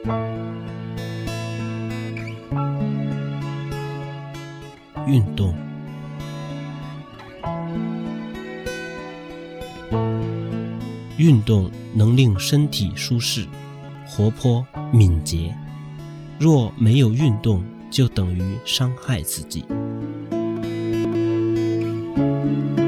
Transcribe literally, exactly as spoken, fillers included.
运动。运动能令身体舒适、活泼、敏捷。若没有运动，就等于伤害自己。